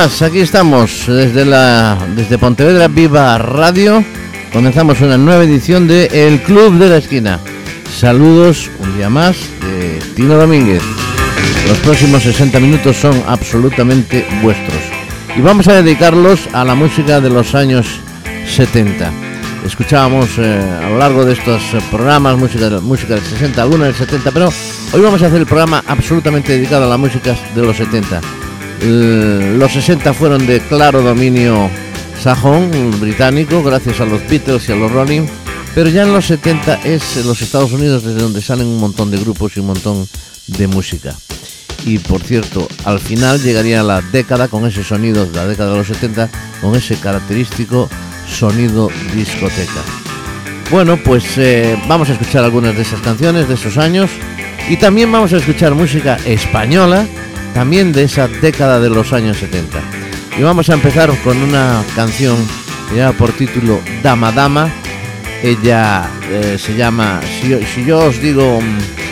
días, aquí estamos desde Pontevedra Viva Radio. Comenzamos una nueva edición de El Club de la Esquina. Saludos un día más de Tino Domínguez. Los próximos 60 minutos son absolutamente vuestros y vamos a dedicarlos a la música de los años 70. Escuchábamos a lo largo de estos programas música del 60, alguna del 70, pero hoy vamos a hacer el programa absolutamente dedicado a la música de los 70. Los 60 fueron de claro dominio sajón, británico, gracias a los Beatles y a los Rolling, pero ya en los 70 es en los Estados Unidos desde donde salen un montón de grupos y un montón de música. Y por cierto, al final llegaría la década con ese sonido, la década de los 70, con ese característico sonido discoteca. Bueno, pues vamos a escuchar algunas de esas canciones de esos años y también vamos a escuchar música española, también de esa década de los años 70. Y vamos a empezar con una canción que lleva por título Dama Dama. Ella se llama, si yo os digo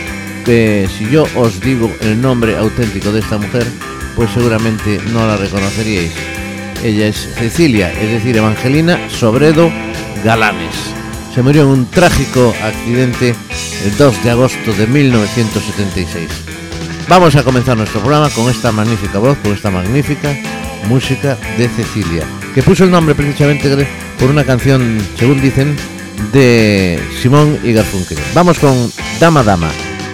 el nombre auténtico de esta mujer, pues seguramente no la reconoceríais. Ella es Cecilia, es decir, Evangelina Sobredo Galanes. Se murió en un trágico accidente el 2 de agosto de 1976. Vamos a comenzar nuestro programa con esta magnífica voz, con esta magnífica música de Cecilia, que puso el nombre precisamente por una canción, según dicen, de Simón y Garfunkel. Vamos con Dama Dama.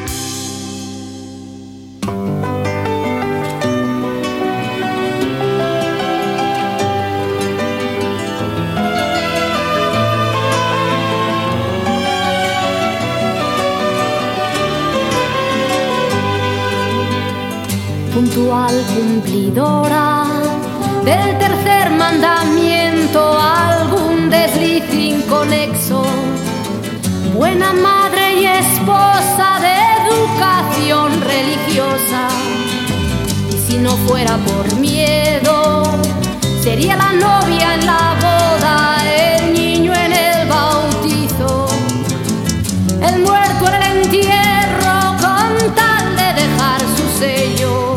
Puntual cumplidora del tercer mandamiento, algún desliz inconexo, buena madre y esposa de educación religiosa. Y si no fuera por miedo, sería la novia en la boda, el niño en el bautizo, el muerto en el entierro, con tal de dejar su sello.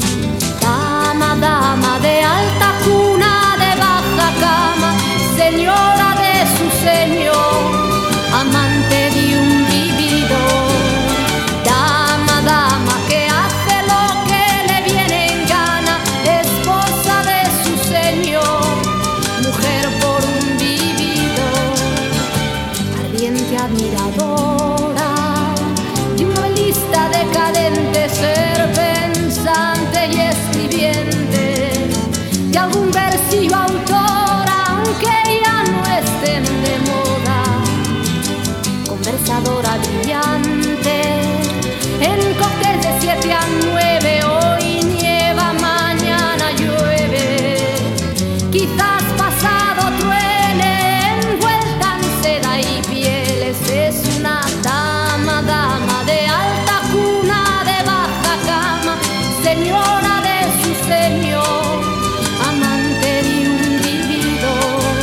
Dama de alta cuna, de baja cama, señora de su señor, amante de un vivido. Dama que hace lo que le viene en gana, esposa de su señor, mujer por un vivido. Ardiente admiradora de un novelista decadente, ser pensante y escribiente de algún versivo autor, aunque ya no estén de moda. Conversadora brillante en cócteles de 7 a 9, hoy nieva, mañana llueve, quizás pasado truene, envuelta en seda y pieles. Es una dama de alta cuna, de baja cama, señora de su señor, amante de un vivido.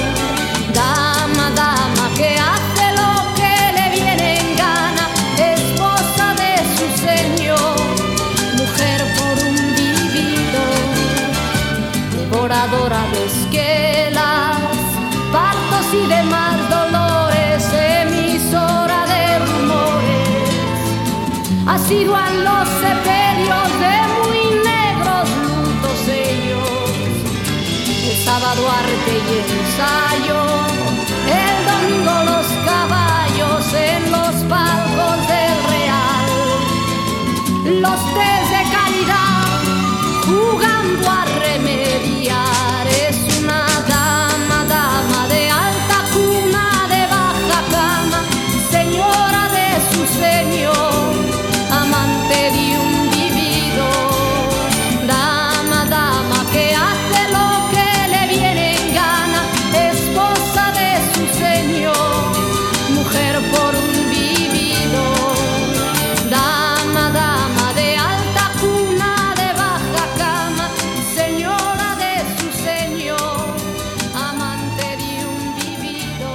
Dama que hace lo que le viene en gana, esposa de su señor, mujer por un vivido. Devoradora de esquelas, partos y demás dolores, emisora de rumores, asidua en los sepelios de muy negros lutos ellos. El sábado arte y ensayo, el domingo los caballos en los palcos del Real, los tés de caridad jugando a remediar. Es una dama de alta cuna, de baja cama, señora de su señor, amante de un vivido. Dama que hace lo que le viene en gana, esposa de su señor, mujer por un vivido. Dama de alta cuna, de baja cama, señora de su señor, amante de un vivido.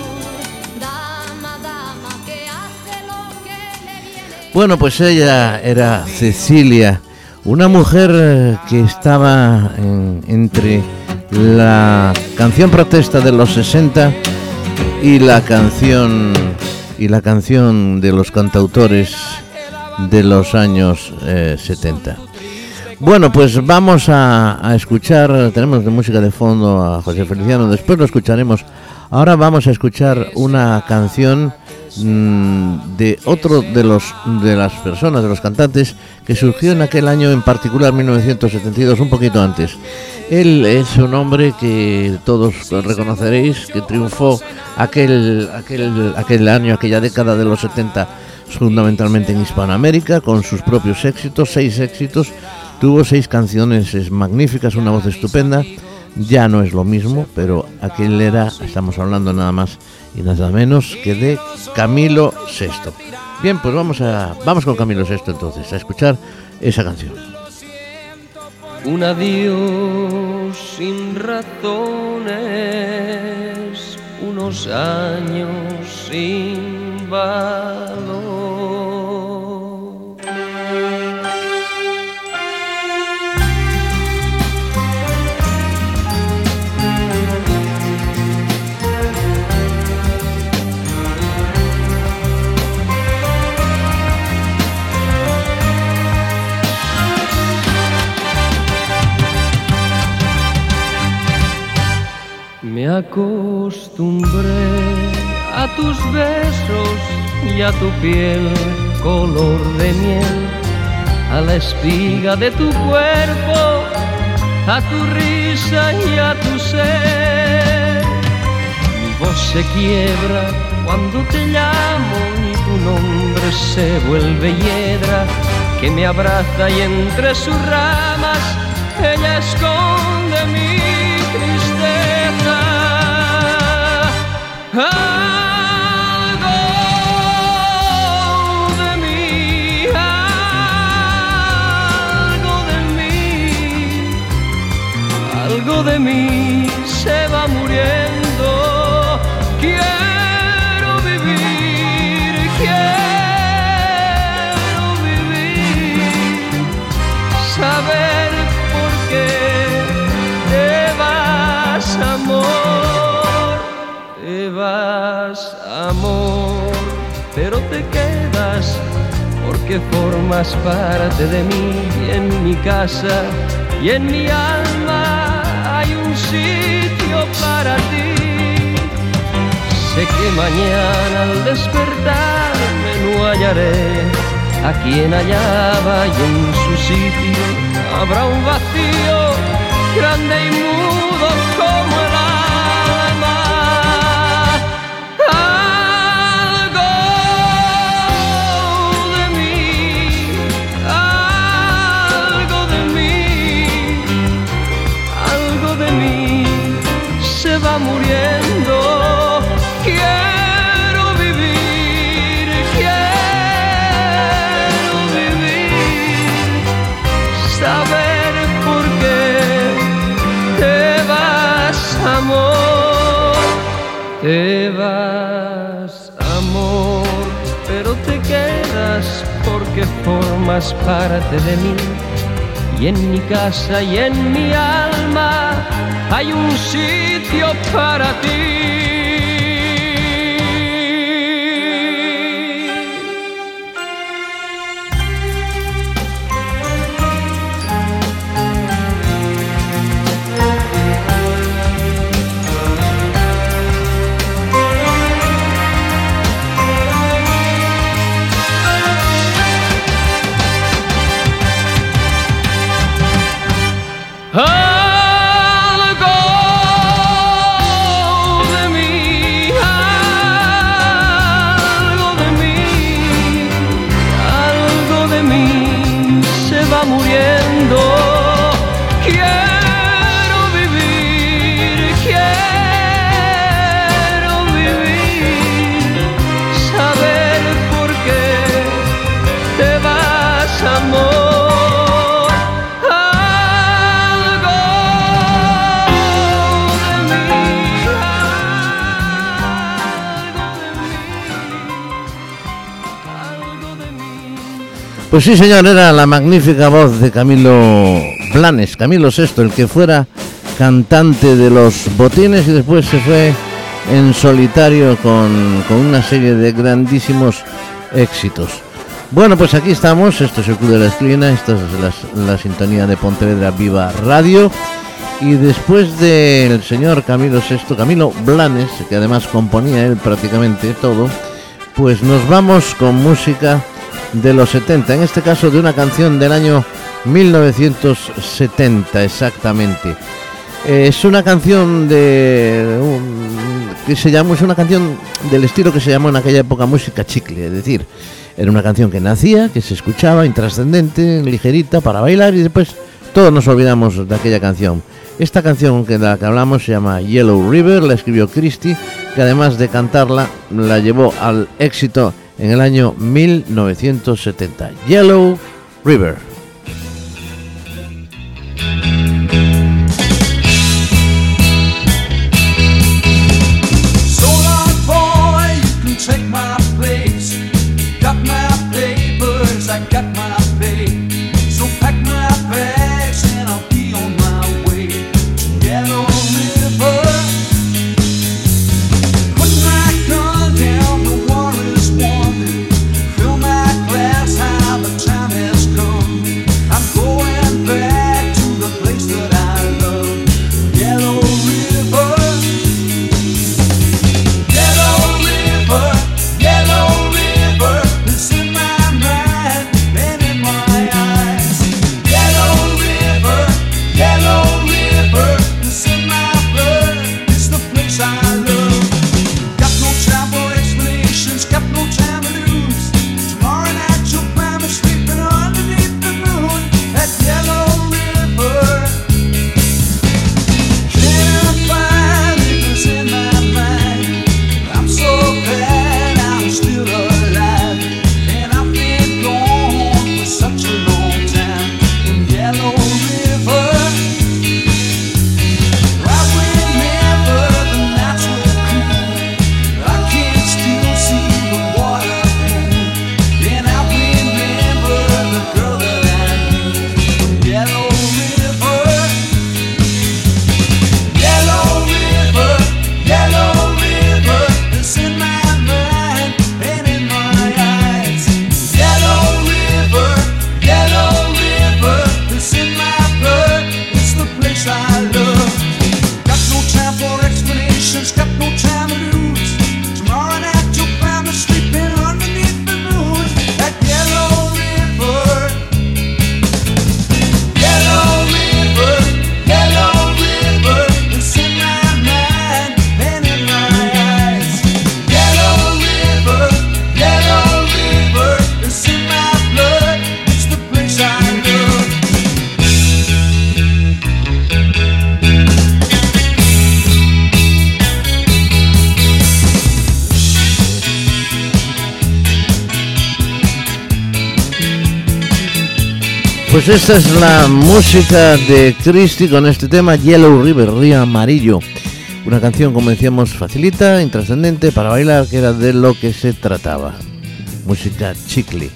Dama que hace lo que le viene. Bueno, pues ella era Cecilia, Una mujer que estaba entre la canción protesta de los 60 y la canción de los cantautores de los años 70. Bueno, pues vamos a escuchar, tenemos de música de fondo a José Feliciano, después lo escucharemos. Ahora vamos a escuchar una canción de otro de las personas, de los cantantes, que surgió en aquel año, en particular 1972, un poquito antes. Él es un hombre que todos reconoceréis, que triunfó aquel año, aquella década de los 70, fundamentalmente en Hispanoamérica, con sus propios éxitos, 6 éxitos. Tuvo 6 canciones magníficas, una voz estupenda. Ya no es lo mismo, pero aquel era, estamos hablando nada más y nada menos que de Camilo VI. Bien, pues vamos con Camilo VI entonces, a escuchar esa canción. Un adiós sin razones, unos años sin valor. Me acostumbré a tus besos y a tu piel color de miel, a la espiga de tu cuerpo, a tu risa y a tu ser. Mi voz se quiebra cuando te llamo y tu nombre se vuelve hiedra, que me abraza y entre sus ramas ella esconde mi tristeza. Algo de mí, algo de mí se va muriendo. Quiero vivir, saber por qué te vas, amor, pero te quedas porque formas parte de mí. Y en mi casa y en mi alma hay un sitio para ti. Sé que mañana al despertarme no hallaré a quien hallaba, y en su sitio habrá un vacío grande y mudo como el alma. Algo de mí se va muriendo. Quiero vivir, saber por qué te vas, amor, te vas, amor, pero te quedas porque formas parte de mí. Y en mi casa y en mi alma hay un sitio para ti. Algo Pues sí, señor, era la magnífica voz de Camilo Blanes, Camilo VI, el que fuera cantante de Los Botines y después se fue en solitario con una serie de grandísimos éxitos. Bueno, pues aquí estamos, esto es el Club de la Esquina, esta es la sintonía de Pontevedra Viva Radio, y después del señor Camilo VI, Camilo Blanes, que además componía él prácticamente todo, pues nos vamos con música de los 70, en este caso de una canción del año 1970 exactamente. Es una canción es una canción del estilo que se llamó en aquella época música chicle, es decir, era una canción que nacía, que se escuchaba, intrascendente, ligerita, para bailar, y después todos nos olvidamos de aquella canción. Esta canción de la que hablamos se llama Yellow River, la escribió Christie, que además de cantarla, la llevó al éxito en el año 1970. Yellow River. Pues esta es la música de Christie con este tema Yellow River, Río Amarillo. Una canción, como decíamos, facilita, intrascendente, para bailar, que era de lo que se trataba. Música chicle.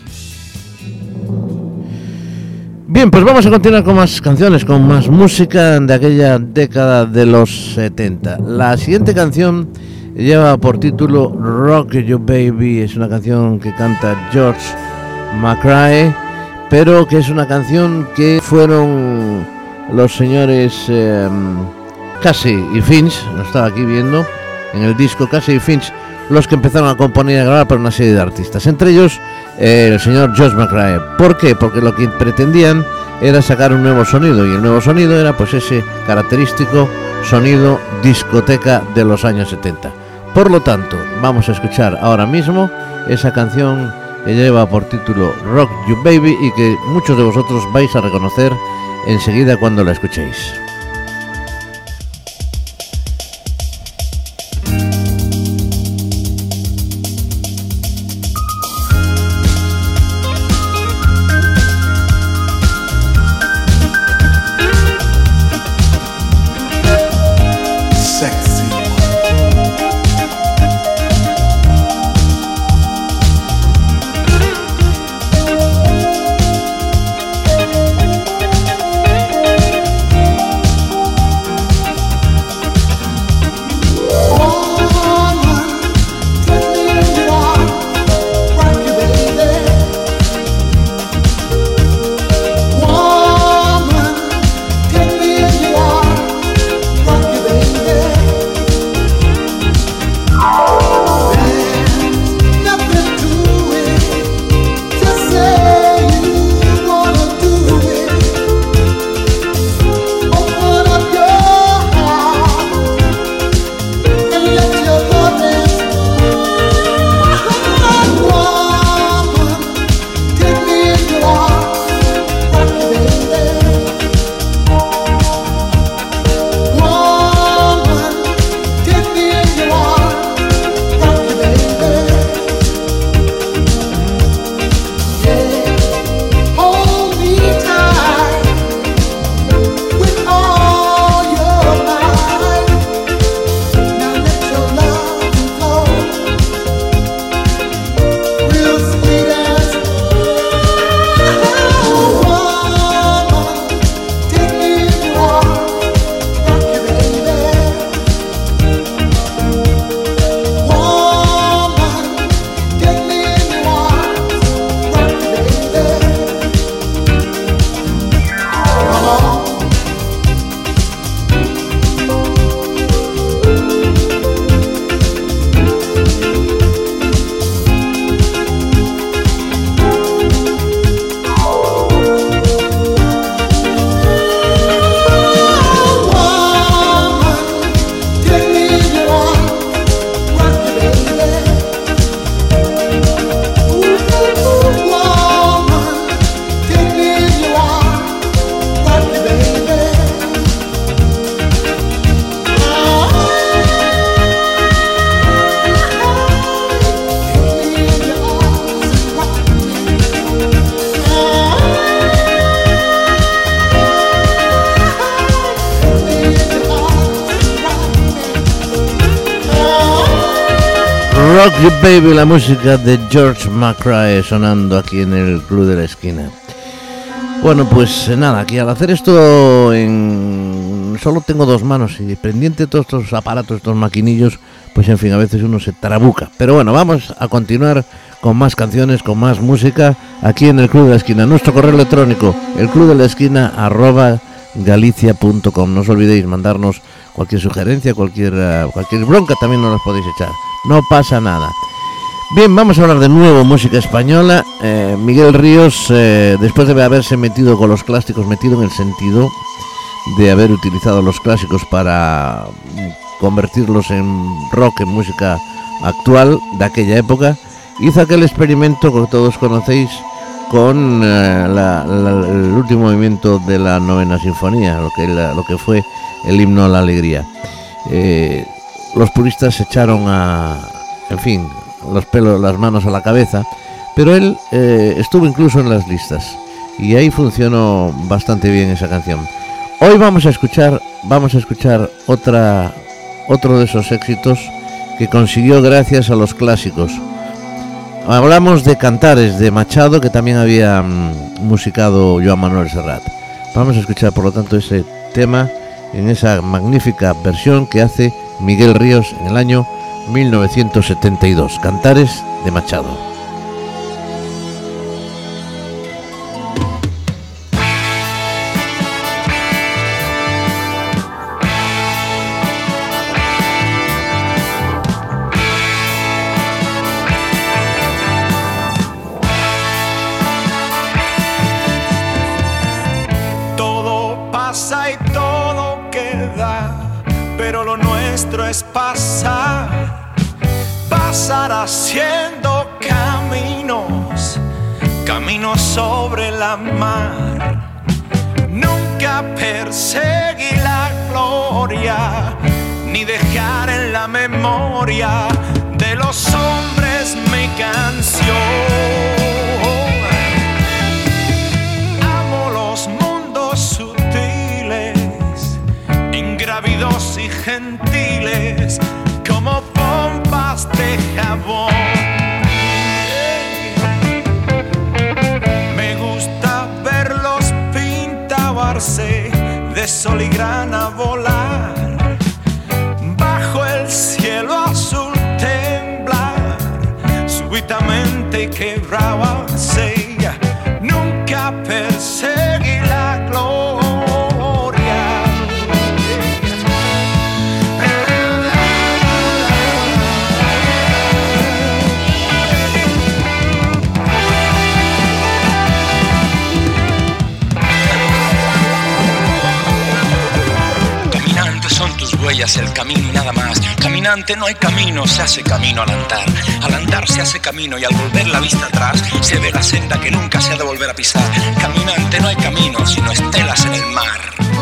Bien, pues vamos a continuar con más canciones, con más música de aquella década de los 70. La siguiente canción lleva por título Rock You Baby. Es una canción que canta George McRae, pero que es una canción que fueron los señores Casey y Finch, lo estaba aquí viendo en el disco, Casey y Finch, los que empezaron a componer y a grabar para una serie de artistas, entre ellos el señor George McRae. ¿Por qué? Porque lo que pretendían era sacar un nuevo sonido, y el nuevo sonido era pues ese característico sonido discoteca de los años 70. Por lo tanto, vamos a escuchar ahora mismo esa canción que lleva por título Rock You Baby y que muchos de vosotros vais a reconocer enseguida cuando la escuchéis. You Baby, la música de George McRae sonando aquí en el Club de la Esquina. Bueno, pues nada, aquí al hacer esto solo tengo dos manos y pendiente de todos estos aparatos, estos maquinillos, pues en fin, a veces uno se trabuca. Pero bueno, vamos a continuar con más canciones, con más música aquí en el Club de la Esquina. Nuestro correo electrónico, elclubdelaesquina@galicia.com. No os olvidéis mandarnos cualquier sugerencia, cualquier bronca, también nos las podéis echar. No pasa nada. Bien, vamos a hablar de nuevo música española. Miguel Ríos, después de haberse metido con los clásicos, metido en el sentido de haber utilizado los clásicos para convertirlos en rock, en música actual de aquella época, hizo aquel experimento que todos conocéis con el último movimiento de la novena sinfonía, lo que fue el himno a la alegría. Los puristas se echaron las manos a la cabeza, pero él estuvo incluso en las listas y ahí funcionó bastante bien esa canción. Hoy vamos a escuchar otro de esos éxitos que consiguió gracias a los clásicos. Hablamos de Cantares de Machado, que también había musicado Joan Manuel Serrat. Vamos a escuchar por lo tanto ese tema en esa magnífica versión que hace Miguel Ríos en el año 1972, Cantares de Machado. Todo pasa y todo queda, pero lo nuestro es pasar haciendo caminos sobre la mar. Nunca perseguí la gloria, ni dejar en la memoria de los hombres mi canción. Amo los mundos sutiles, ingrávidos y gentiles, como pompas de jabón. Me gusta verlos pintabarse de sol y grana volar, bajo el cielo azul temblar, súbitamente quebrábanse. Nunca perseguí la gloria. Huellas, el camino y nada más. Caminante, no hay camino, se hace camino al andar. Al andar se hace camino y al volver la vista atrás se ve la senda que nunca se ha de volver a pisar. Caminante, no hay camino, sino estelas en el mar.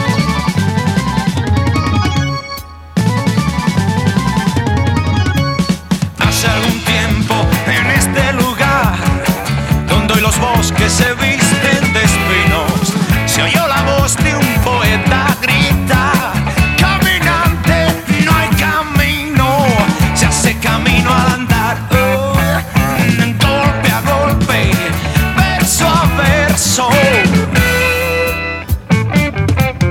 Hace algún tiempo en este lugar, donde hoy los bosques se visten de espinos, se oyó la voz de un poeta gritar: camino al andar, golpe a golpe, verso a verso.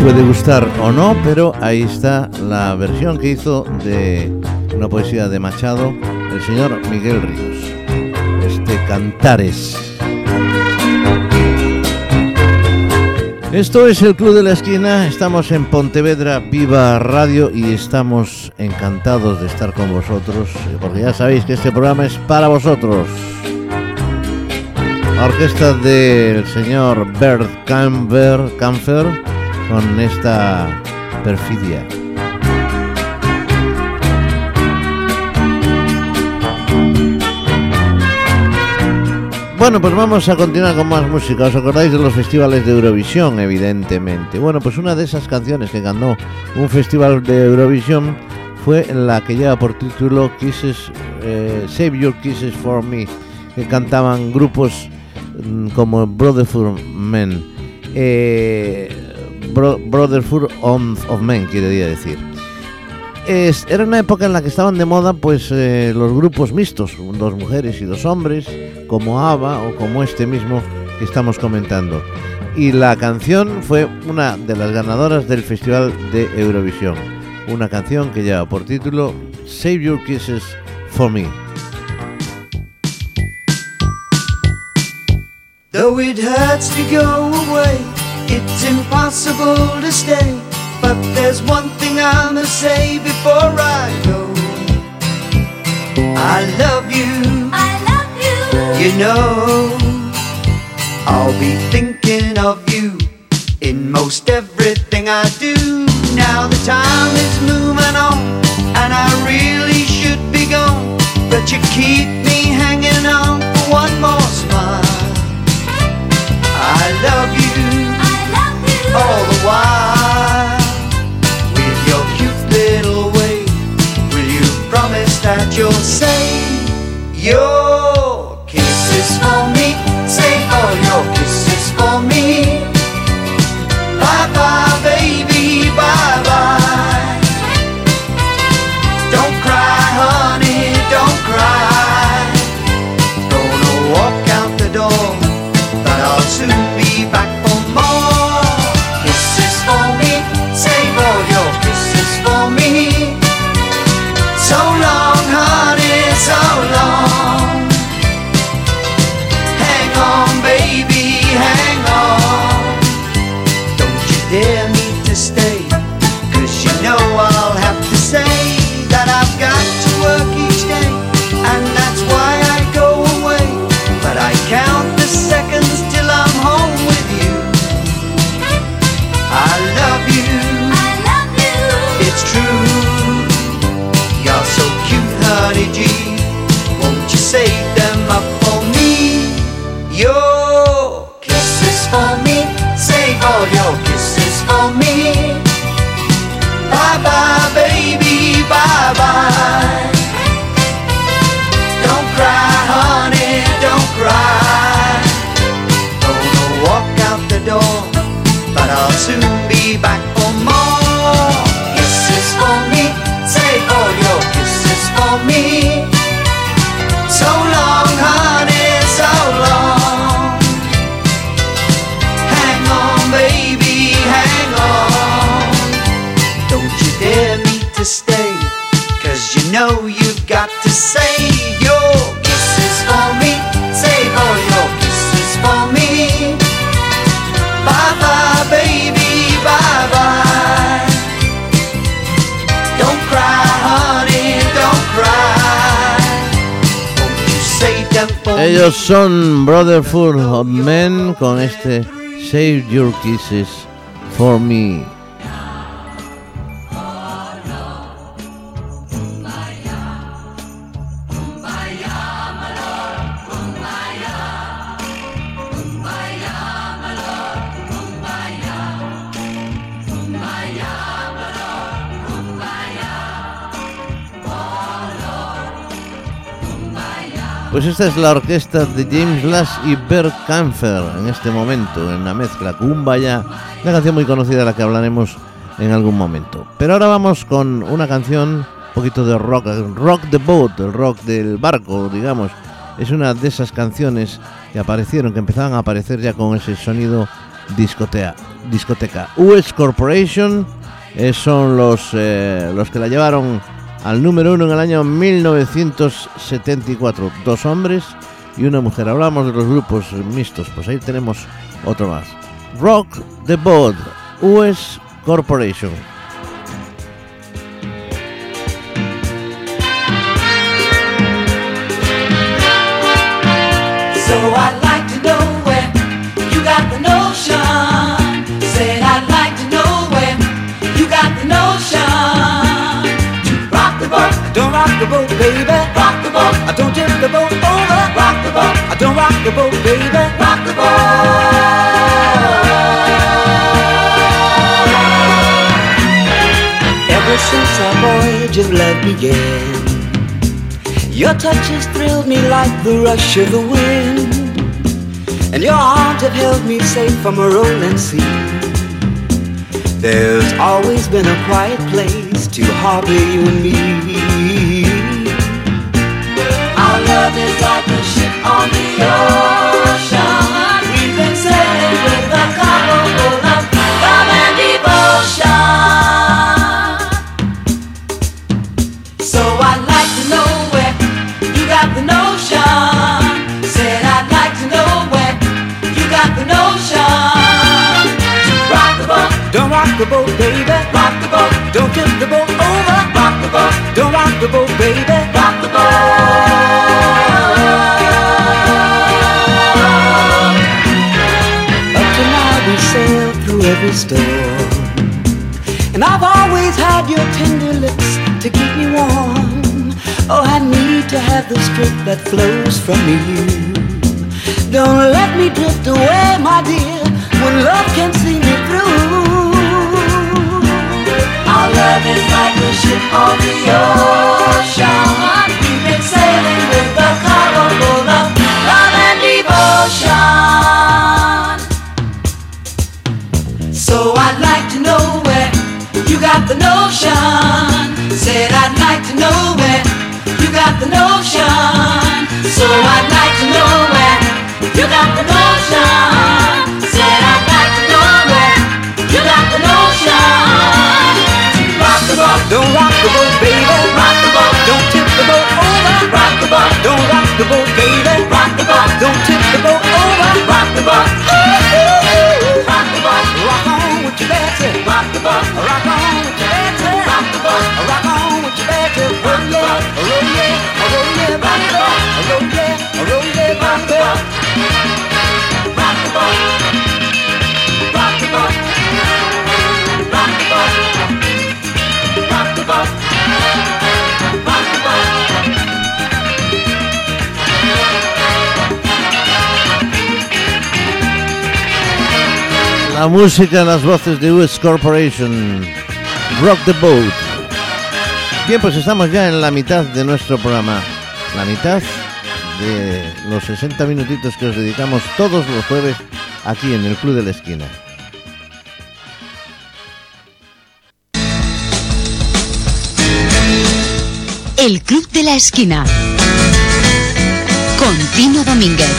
puede gustar o no, pero ahí está la versión que hizo de una poesía de Machado el señor Miguel Ríos, Cantares. Esto es el Club de la Esquina, estamos en Pontevedra Viva Radio y estamos encantados de estar con vosotros, porque ya sabéis que este programa es para vosotros. La orquesta del señor Bert Kaempfer con esta Perfidia. Bueno, pues vamos a continuar con más música. ¿Os acordáis de los festivales de Eurovisión? Evidentemente. Bueno, pues una de esas canciones que ganó un festival de Eurovisión fue la que lleva por título Kisses, Save Your Kisses for Me, que cantaban grupos como Brotherhood Men, Brotherhood of Men, quería decir. Era una época en la que estaban de moda pues los grupos mixtos, 2 mujeres y 2 hombres, como ABBA o como este mismo que estamos comentando. Y la canción fue una de las ganadoras del Festival de Eurovisión. Una canción que lleva por título Save Your Kisses for Me. Though it hurts to go away, it's impossible to stay. But there's one thing I must say before I go. I love you. I love you. You know, I'll be thinking of you in most everything I do. Now the time is moving on, and I really should be gone, but you keep me hanging on for one more smile. I love you. I love you. All the while, with your cute little way, will you promise that you'll say your kisses for me, save all your kisses for me. Bye bye baby, bye bye. Don't cry honey, don't cry. Gonna walk out the door, but I'll soon be back for more. Kisses for me, save all your kisses for me. So long honey, so long. Hang on baby, hang on. Don't you dare me to stay, 'cause you know I'll have to say that I've got to work each day, and that's why I go away. But I count the seconds till I'm home with you. I love you, I love you. it's true. You're so cute honey G, won't you save them up for me? Your kisses for me, save all your kisses for me. Bye bye baby, bye bye. Don't cry honey, don't cry. Gonna walk out the door, but I'll soon be back for more. Kisses for me, save all your kisses for me. So long honey, so long. Hang on baby, hang on. Don't you dare me to stay, 'cause you know you've got to save your kisses for me, save all your kisses for me. Bye bye baby, bye bye. Don't cry honey, don't cry. Won't you save them for me? Ellos son Brotherhood of Men con Save Your Kisses for Me. Pues esta es la orquesta de James Last y Bert Kaempfer en este momento, en la mezcla Kumbaya, una canción muy conocida de la que hablaremos en algún momento. Pero ahora vamos con una canción, un poquito de rock, Rock the Boat, el rock del barco, digamos. Es una de esas canciones que aparecieron, que empezaban a aparecer ya con ese sonido discoteca. US Corporation son los que la llevaron al número 1 en el año 1974. 2 hombres y una mujer. Hablamos de los grupos mixtos, pues ahí tenemos otro más. Rock the Boat, US Corporation. So I'd like to know where you got the notion. Said I'd like to know where you got the notion. To rock the boat, don't rock the boat, baby. Rock the boat, I don't tip the boat over. Rock the boat, I don't rock the boat, baby. Rock the boat. Ever since our voyage of love began, your touches thrilled me like the rush of the wind, and your arms have held me safe from a rolling sea. There's always been a quiet place to harbor you and me. Our love is like a ship on the ocean. We've been sailing with a cargo full of love and devotion. So I'd like to know where you got the notion. Said I'd like to know where you got the notion. To rock the boat, don't rock the boat, baby. Rock the boat, don't tip the boat over. Rock the boat, don't rock the boat, baby. Rock the boat. Up to now we sailed through every storm, and I've always had your tender lips to keep me warm. Oh, I need to have the strength that flows from you. Don't let me drift away, my dear, when love can see me through. Our love is like a ship on the ocean. We've been sailing with a cargo full of love and devotion. So I'd like to know where you got the notion. Said I'd like to know where you got the notion. So I'd like to know where you got the notion. Said I'd like to know where you got the notion. Rock the boat, don't rock the boat, baby. Rock the boat, don't tip the boat over. Rock the boat, don't rock the boat, baby. Rock the boat, don't tip the boat over. Rock the boat, rock the boat, rock on with your Betsy. Rock the boat, rock on with your Betsy. Rock the boat, rock on with your Betsy. Rock the boat, roll yeah, roll yeah, rock the boat, roll yeah, roll yeah, rock the boat. Rock the boat, rock the boat, rock the boat, rock the boat, rock the boat. La música, las voces de US Corporation, Rock the Boat. Bien, pues estamos ya en la mitad de nuestro programa, la mitad de los 60 minutitos que os dedicamos todos los jueves aquí en el Club de la Esquina. El Club de la Esquina con Tino Domínguez.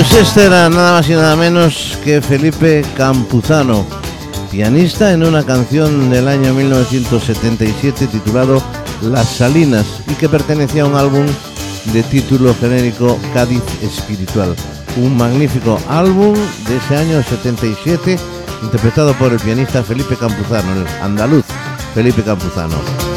Pues este era nada más y nada menos que Felipe Campuzano, pianista en una canción del año 1977 titulado Las Salinas y que pertenecía a un álbum de título genérico Cádiz Espiritual. Un magnífico álbum de ese año 77 interpretado por el pianista Felipe Campuzano, el andaluz Felipe Campuzano.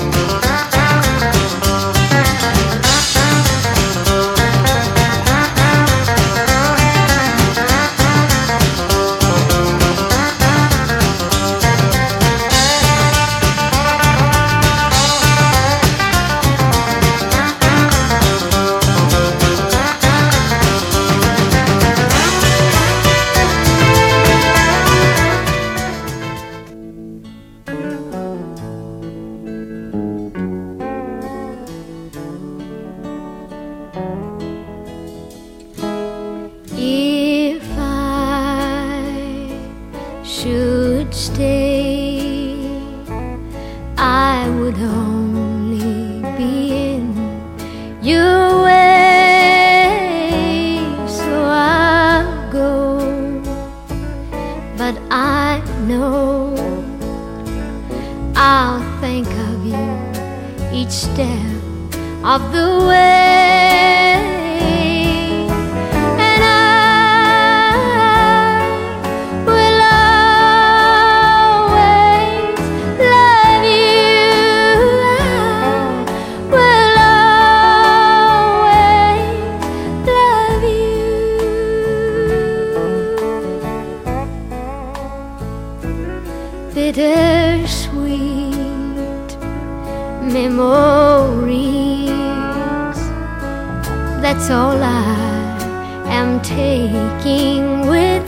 That's all I am taking with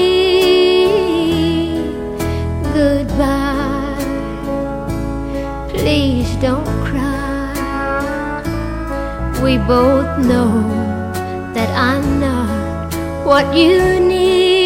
me. Goodbye, please don't cry. We both know that I'm not what you need.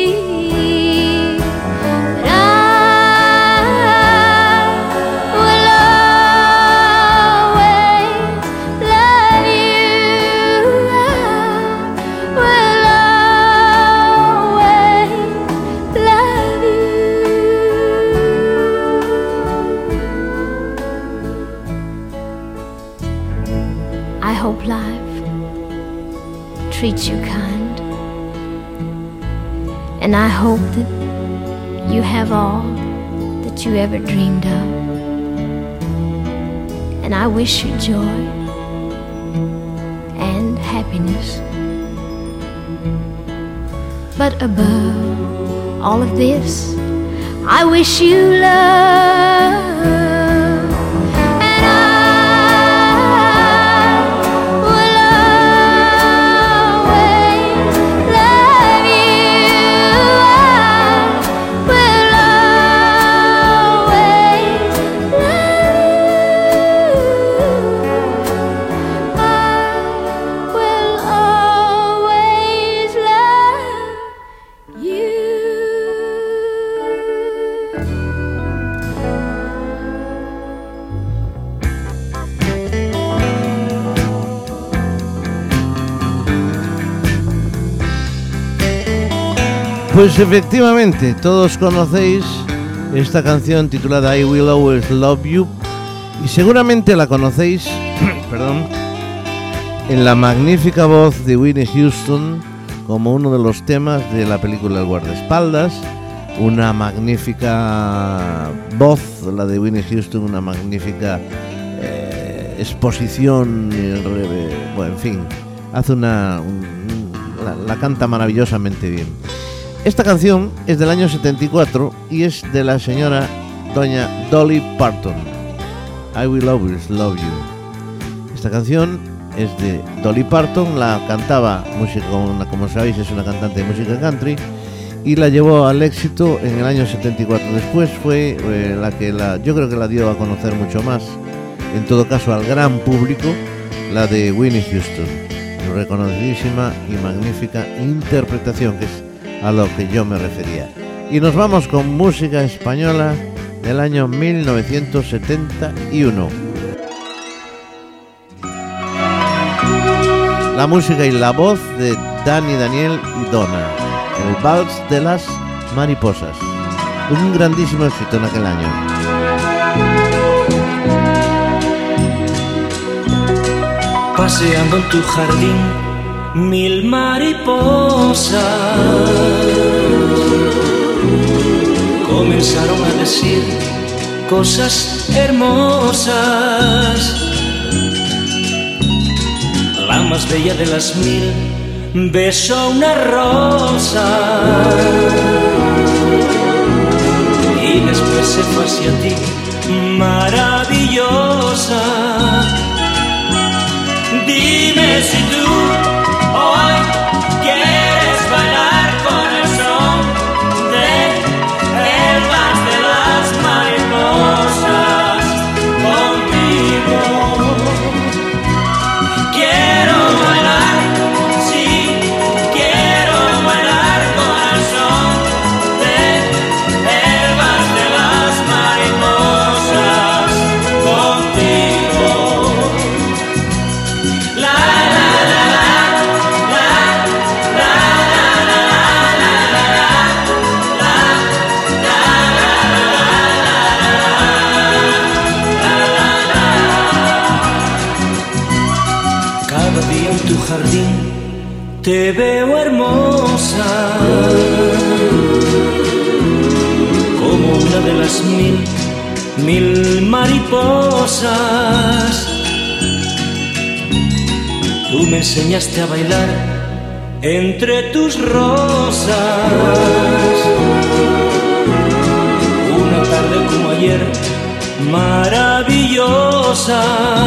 Treat you kind, and I hope that you have all that you ever dreamed of, and I wish you joy and happiness, but above all of this I wish you love. Pues efectivamente, todos conocéis esta canción titulada I Will Always Love You y seguramente la conocéis perdón, en la magnífica voz de Whitney Houston como uno de los temas de la película El Guardaespaldas. Una magnífica voz, la de Whitney Houston, una magnífica exposición, bueno, en fin, hace la canta maravillosamente bien. Esta canción es del año 74 y es de la señora doña Dolly Parton. I Will Always Love You. Esta canción es de Dolly Parton, la cantaba música, como sabéis, es una cantante de música country y la llevó al éxito en el año 74. Después fue yo creo que la dio a conocer mucho más, en todo caso al gran público, la de Whitney Houston. Reconocidísima y magnífica interpretación, que es a lo que yo me refería. Y nos vamos con música española del año 1971. La música y la voz de Dani, Daniel y Donna, el Vals de las Mariposas, un grandísimo éxito en aquel año. Paseando en tu jardín, 1000 mariposas comenzaron a decir cosas hermosas. La más bella de las 1000 besó una rosa y después se fue hacia ti, maravillosa. Dime si tú hoy quieres bailar con el son del vals de las mariposas conmigo. Quiero bailar, sí, quiero bailar con el son del vals de las mariposas contigo. Cada día en tu jardín te veo hermosa, como una de las 1000 mariposas. Tú me enseñaste a bailar entre tus rosas. Una tarde como ayer, maravillosa.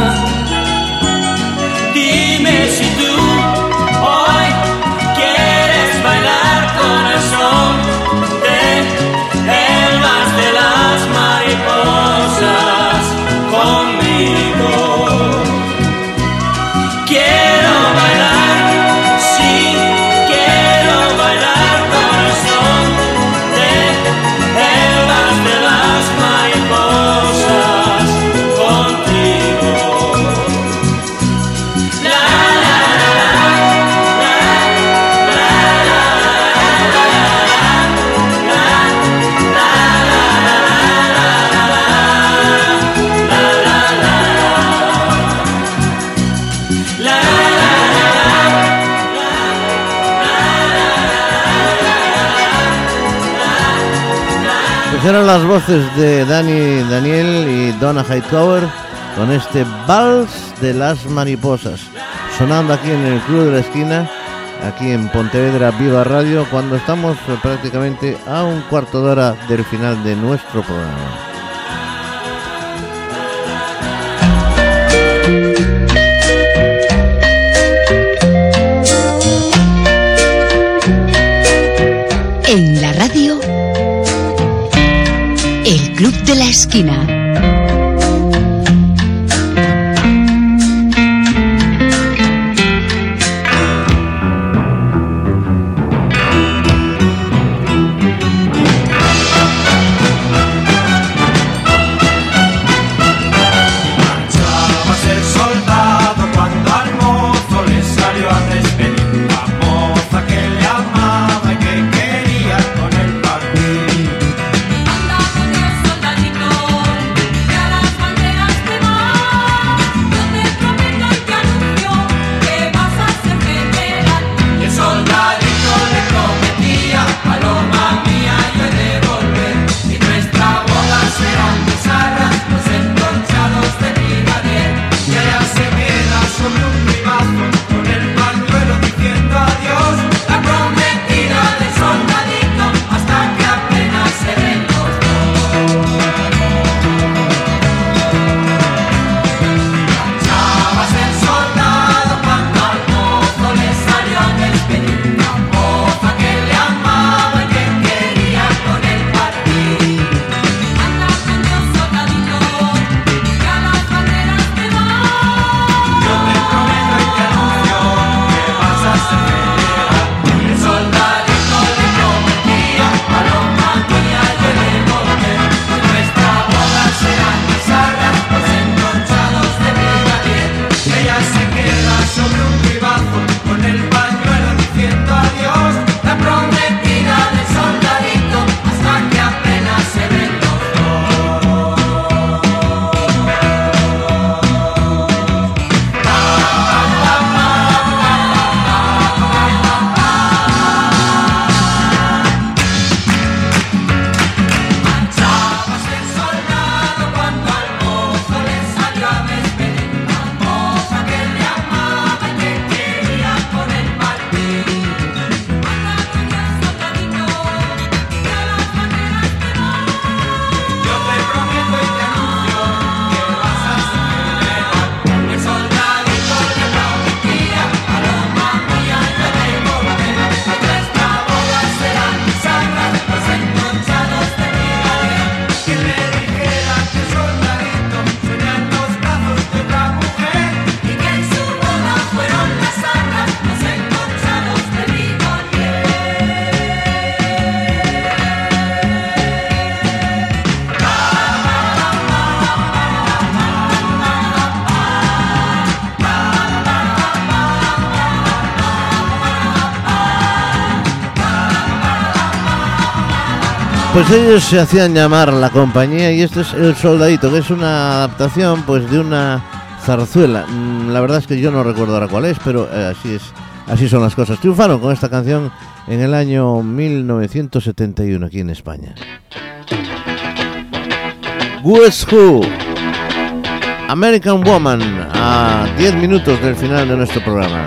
Dime si tú hoy quieres bailar con el son del vals de las mariposas conmigo. Quiero bailar, sí, quiero bailar con el son del vals de las mariposas contigo. Eran las voces de Dani, Daniel y Donna Hightower con este Vals de las Mariposas, sonando aquí en el Club de la Esquina, aquí en Pontevedra Viva Radio, cuando estamos prácticamente a un cuarto de hora del final de nuestro programa. En la radio, el Club de la Esquina. Anda con Dios, soldadito, Pues ellos se hacían llamar La Compañía y este es El Soldadito, que es una adaptación pues de una zarzuela. La verdad es que yo no recuerdo ahora cuál es, pero así son las cosas. Triunfaron con esta canción en el año 1971 aquí en España. Guess Who, American Woman, a 10 minutos del final de nuestro programa.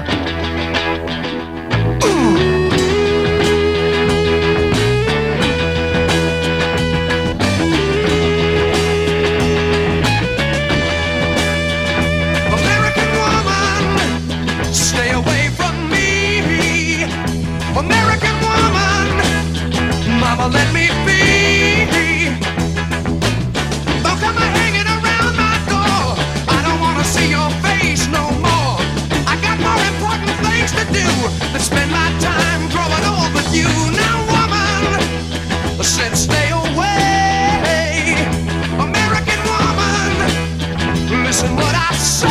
Let me be. Don't come hanging around my door. I don't wanna see your face no more. I got more important things to do than spend my time growing old with you. Now, woman, said stay away. American woman, listen what I say.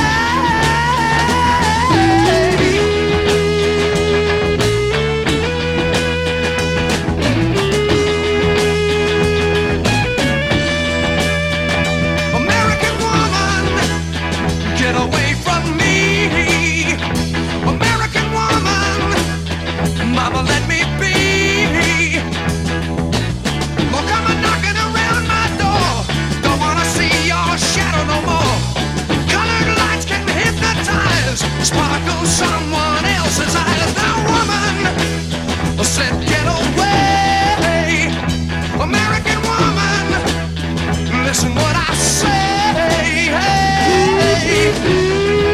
Sparkle someone else's eyes. Now, woman, said get away. American woman, listen what I say. Hey.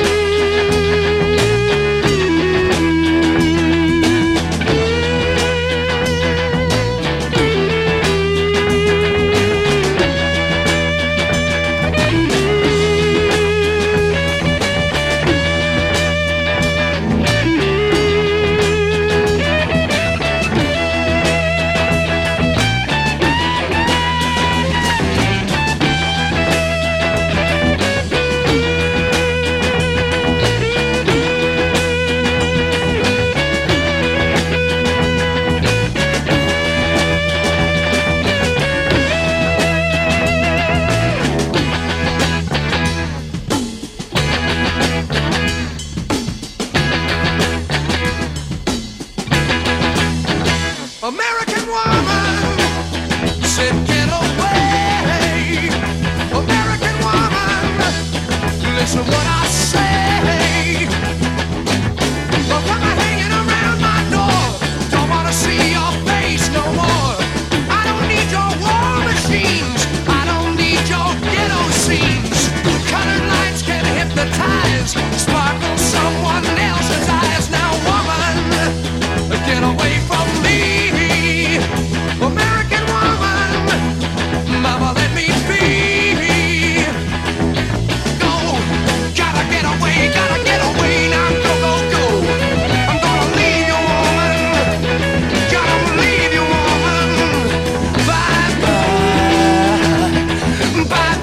American woman, said get away. American woman, listen what I say. Don't come hanging around my door. Don't wanna see your face no more. I don't need your war machines. I don't need your ghetto scenes. Colored lights can hypnotize. Sparkle someone else's eyes. Now, woman, get away from me. American woman, mama, let me be. Go, gotta get away now, go, go, go. I'm gonna leave you, woman, gotta leave you, woman. Bye, bye, bye,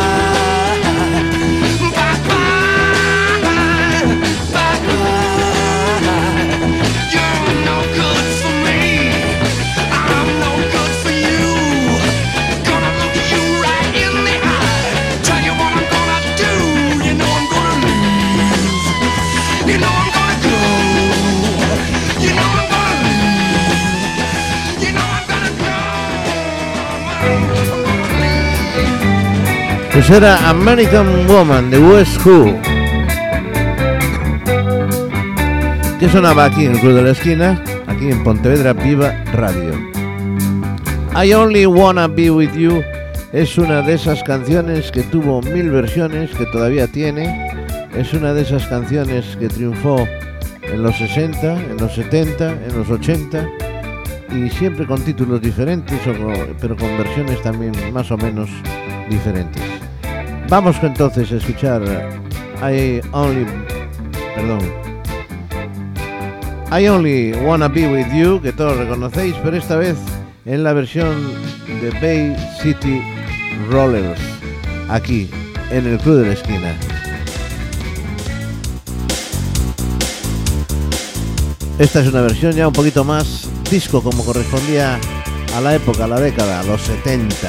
bye, bye, bye, bye, bye. You're no good for me. I'm no good for you. Gonna look you right in the eye. Tell you what I'm gonna do. You know I'm gonna leave. You know I'm gonna go. You know I'm gonna leave. You know I'm gonna go. Pues era American Woman de Guess Who, que sonaba aquí en el Club de la Esquina, aquí en Pontevedra Viva Radio. I Only Wanna Be With You es una de esas canciones que tuvo 1000 versiones, que todavía tiene. Es una de esas canciones que triunfó en los 60, en los 70, en los 80 y siempre con títulos diferentes, pero con versiones también más o menos diferentes. Vamos entonces a escuchar I Only Wanna Be With You, que todos reconocéis, pero esta vez en la versión de Bay City Rollers, aquí en el Club de la Esquina. Esta es una versión ya un poquito más disco, como correspondía a la época, a la década, a los 70.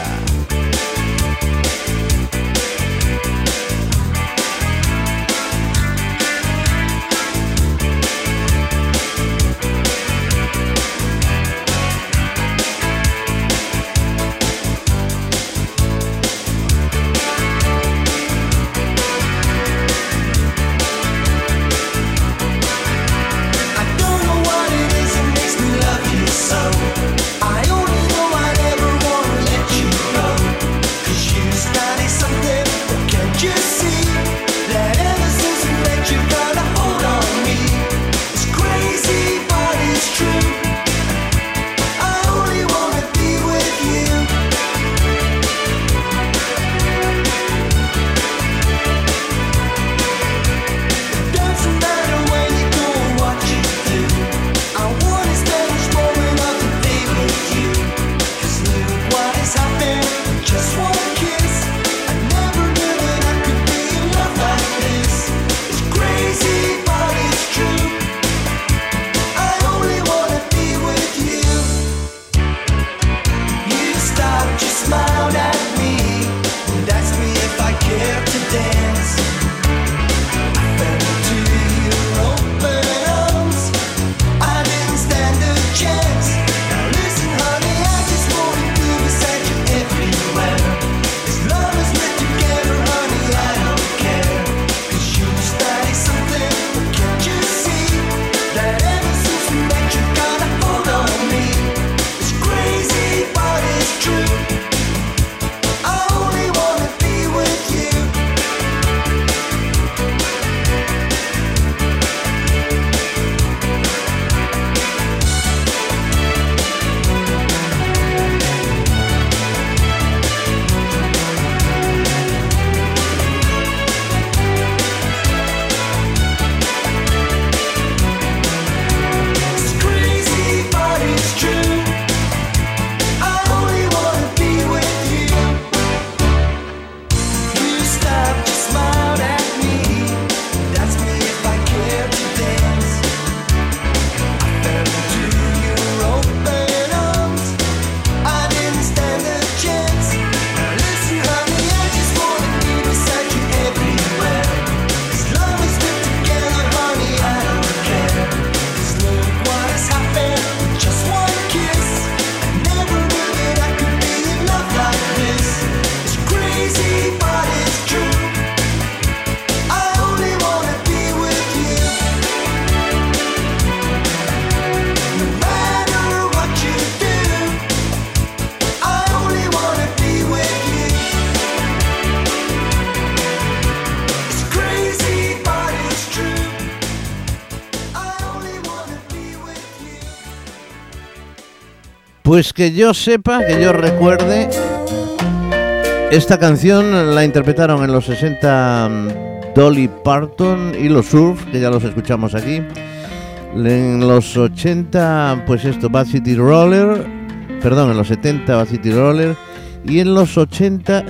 Pues que yo sepa, que yo recuerde, esta canción la interpretaron en los 60 Dolly Parton y los Surf, que ya los escuchamos aquí. En los 80, pues esto, Bad City Roller, perdón, en los 70 Bad City Roller, y en los 80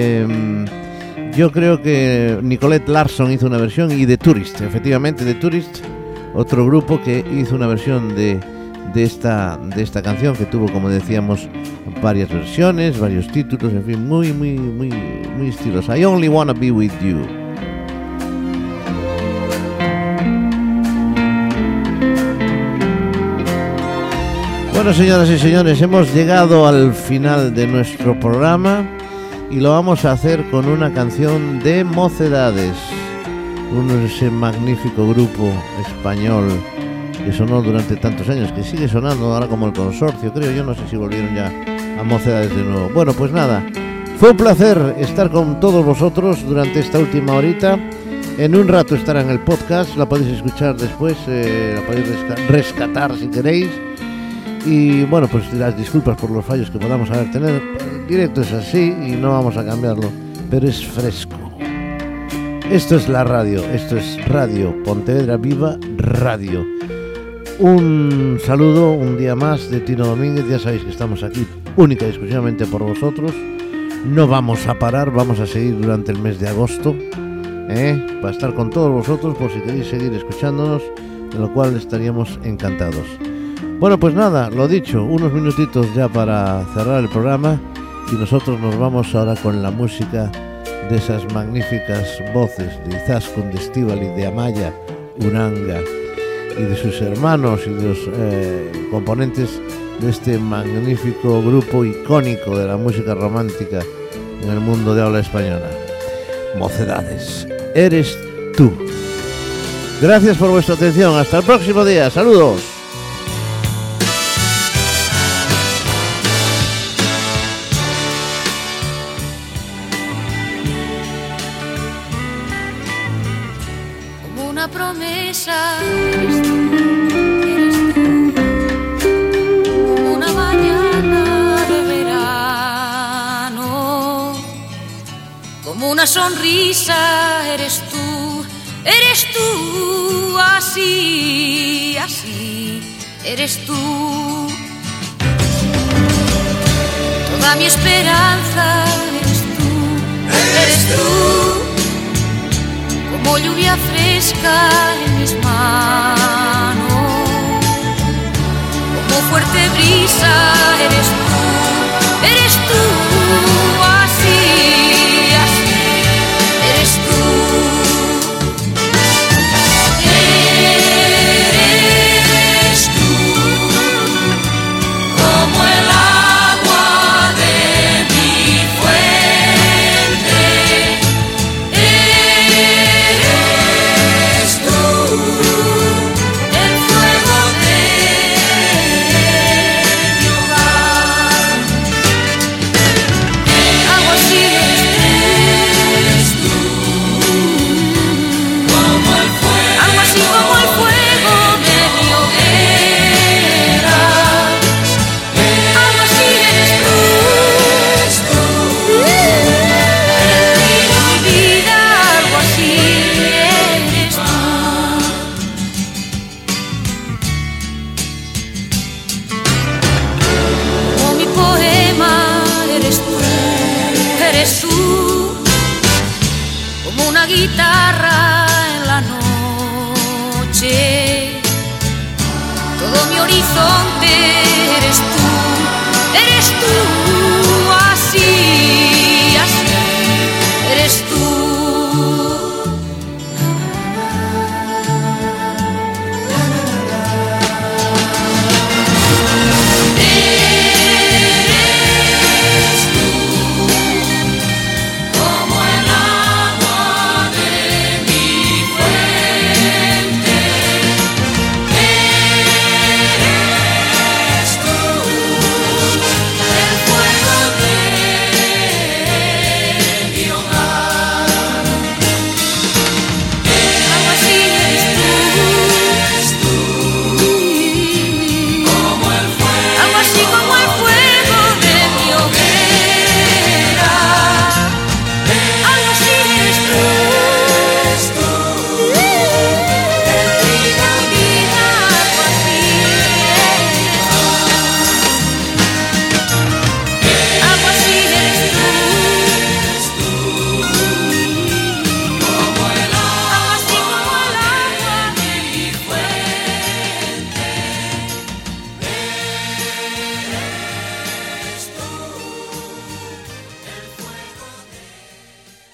yo creo que Nicolette Larson hizo una versión, y The Tourist, efectivamente, The Tourist, otro grupo que hizo una versión de esta canción, que tuvo, como decíamos, varias versiones, varios títulos, en fin, muy estilosa. I Only Wanna Be With You. Bueno, señoras y señores, hemos llegado al final de nuestro programa y lo vamos a hacer con una canción de Mocedades, ese magnífico grupo español que sonó durante tantos años, que sigue sonando ahora como el Consorcio, creo. Yo no sé si volvieron ya a Mocedades de nuevo. Bueno, pues nada, fue un placer estar con todos vosotros durante esta última horita. En un rato estará en el podcast, la podéis escuchar después, la podéis rescatar si queréis. Y bueno, pues las disculpas por los fallos que podamos haber tenido. El directo es así y no vamos a cambiarlo, pero es fresco. Esto es la radio, esto es Radio Pontevedra Viva Radio. Un saludo un día más de Tino Domínguez. Ya sabéis que estamos aquí única y exclusivamente por vosotros. No vamos a parar, vamos a seguir durante el mes de agosto, para estar con todos vosotros, por si queréis seguir escuchándonos, de lo cual estaríamos encantados. Bueno, pues nada, lo dicho, unos minutitos ya para cerrar el programa y nosotros nos vamos ahora con la música de esas magníficas voces de Izaskun, de Estíbaliz, de Amaya, Uranga y de sus hermanos y de los componentes de este magnífico grupo icónico de la música romántica en el mundo de habla española. Mocedades, eres tú. Gracias por vuestra atención, hasta el próximo día, saludos. Como una promesa eres tú, como una mañana de verano, como una sonrisa eres tú, así, así, eres tú. Toda mi esperanza eres tú, como lluvia fresca en mis manos, como fuerte brisa eres tú, así, así, eres tú. Guitarra en la noche, todo mi horizonte eres tú,